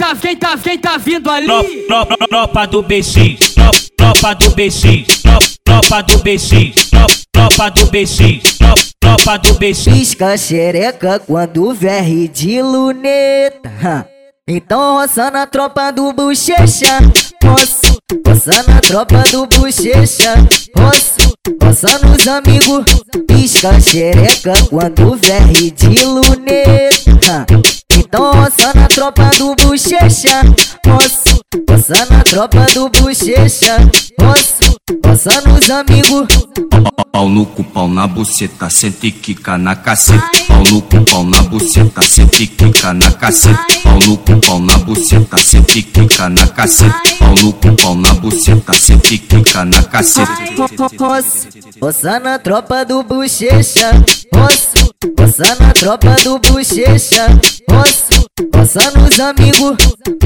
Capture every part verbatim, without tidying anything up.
tá, quem tá, quem tá vindo ali? Tropa, tropa do B X, tropa, tropa do B X, tropa, tropa do B X, tropa, tropa do B X, tropa, tropa do B X. Pisca xereca quando verre de luneta. Então roça na tropa do bochecha, roça, roça na tropa do bochecha, roça, roça nos amigos. Pisca xereca quando verre de luneta. Então roça na tropa do bochecha, roça, roça na tropa do bochecha, roça, roça nos amigos. Pau no cu, pau na buceta, sente e quica na caceta. Pau no cu, pau na buceta, sente e quica na caceta. Pau no cu, pau na buceta, sente e quica na caceta. Pau no cu, pau na buceta, sente e quica na caceta. Roça, roça na tropa do bochecha, roça, roça na tropa do bochecha, roça, roça nos amigos.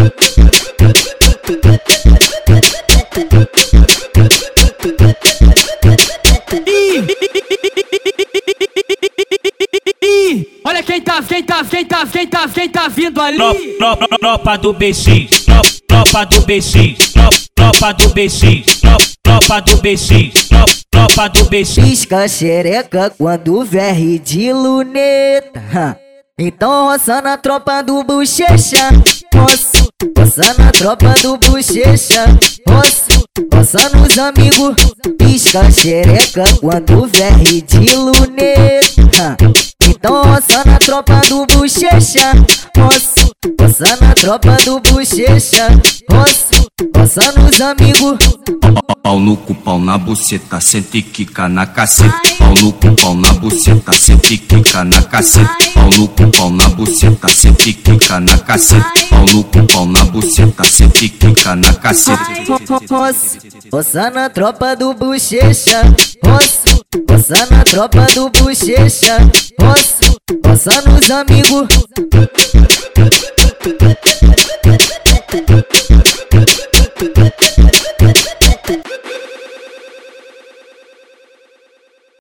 Olha quem tá, quem tá, quem tá, quem tá, quem tá vindo ali? Tropa, tropa do B X, tropa, tropa do B X, tropa, tropa do B X, tropa, tropa do B X, tropa, tropa do B X. Pisca xereca quando verre de luneta. Então roça na tropa do bochecha, roça, roça na tropa do bochecha, roça, roça nos amigos. Pisca xereca quando verre de luneta. Então roça na tropa do bochecha, roça, roça na tropa do bochecha, roça, roça nos amigos. Pau no cu, pau na buceta, sente e quica na caceta. Pau no cu, pau na buceta, sente e quica na caceta. Pau no cu, pau na buceta, sente e quica na caceta. Pau no cu, pau na buceta, sente e quica na caceta. Roça, roça na tropa do bochecha, roça, roça na tropa do bochecha, roça, roça nos amigos.